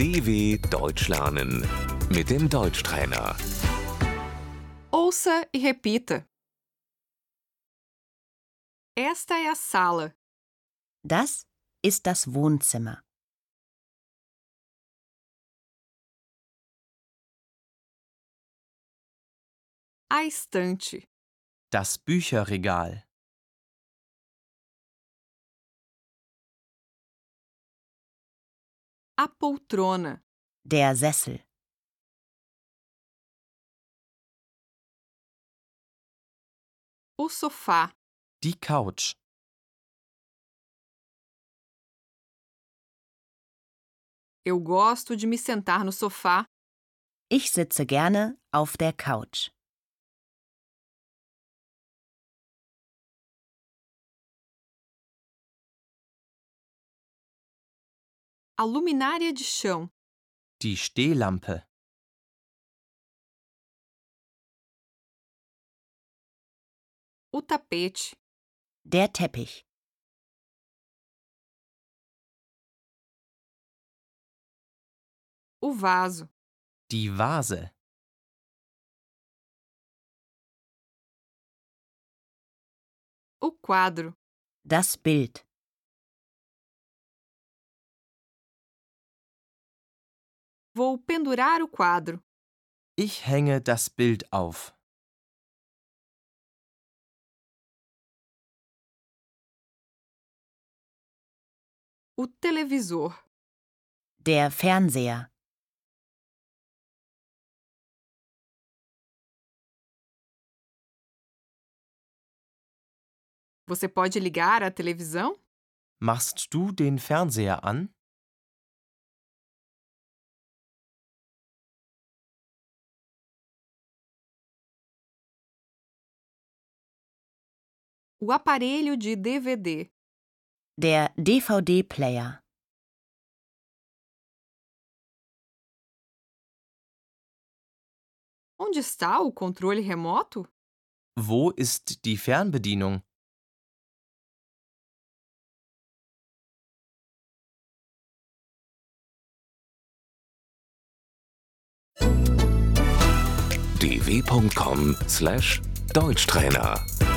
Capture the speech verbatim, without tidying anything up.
D W Deutsch lernen mit dem Deutschtrainer. Ouça e repita. Esta é a sala. Das ist das Wohnzimmer. A estante. Das Bücherregal. A poltrona. Der Sessel. O sofá. Die Couch. Eu gosto de me sentar no sofá. Ich sitze gerne auf der Couch. A luminária de chão. Die Stehlampe. O tapete. Der Teppich. O vaso. Die Vase. O quadro. Das Bild. Vou pendurar o quadro. Ich hänge das Bild auf. O televisor. Der Fernseher. Você pode ligar a televisão? Machst du den Fernseher an? O aparelho de D V D. Der D V D-Player. Onde está o controle remoto? Wo ist die Fernbedienung? d w punkt com slash Deutschtrainer